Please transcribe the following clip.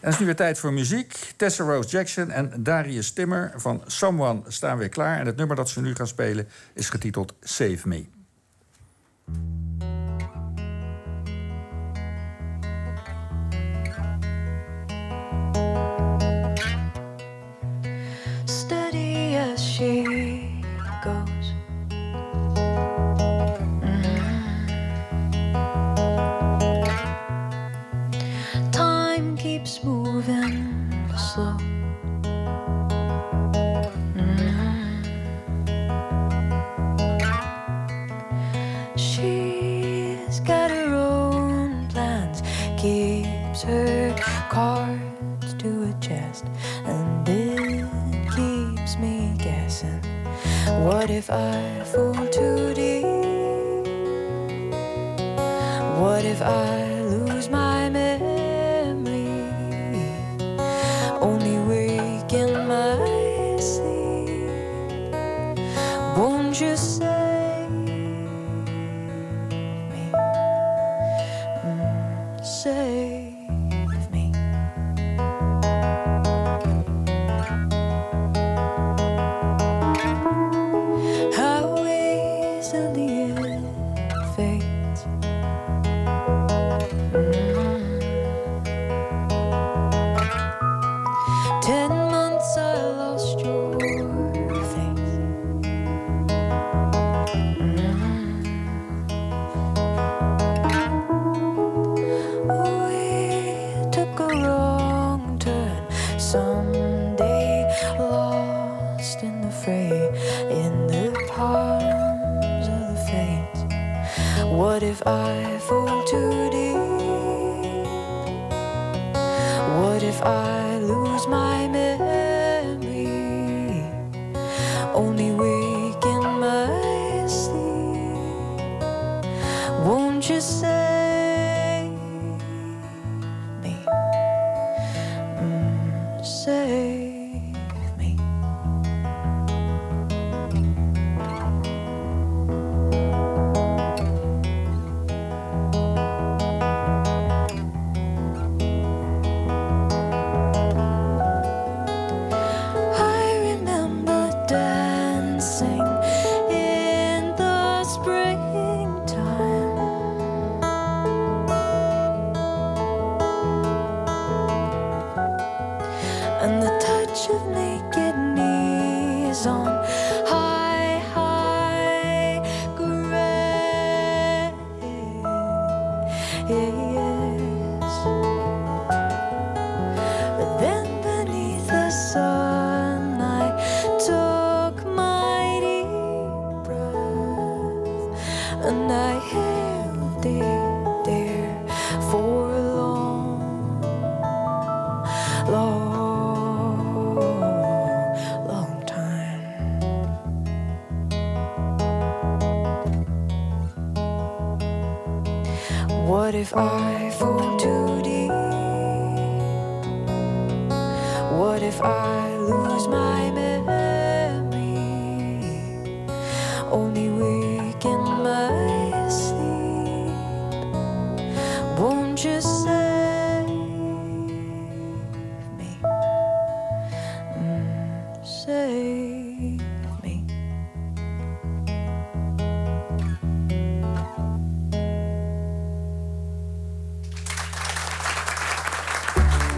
het is nu weer tijd voor muziek. Tessa Rose Jackson en Darius Timmer van Someone staan weer klaar. En het nummer dat ze nu gaan spelen is getiteld Save Me. Steady as she goes. Time keeps moving slow. She's got her own plans, keeps her cards to her chest, and it keeps me guessing. What if I fall too deep? What if I lose my memory? Only wake in my sleep. Won't you save me? Save me. How easily it fades. 10 months I lost your face. We took a wrong turn someday, lost in the fray, in the palms of the fates. What if I fall too deep? What if I lose my memory? Only wake in my sleep. Won't you save me? Save me. And the touch of naked knees on high, high grace. But then beneath the sun I took my deep breath, and I held it there for a long, long What if I fall too deep? What if I lose my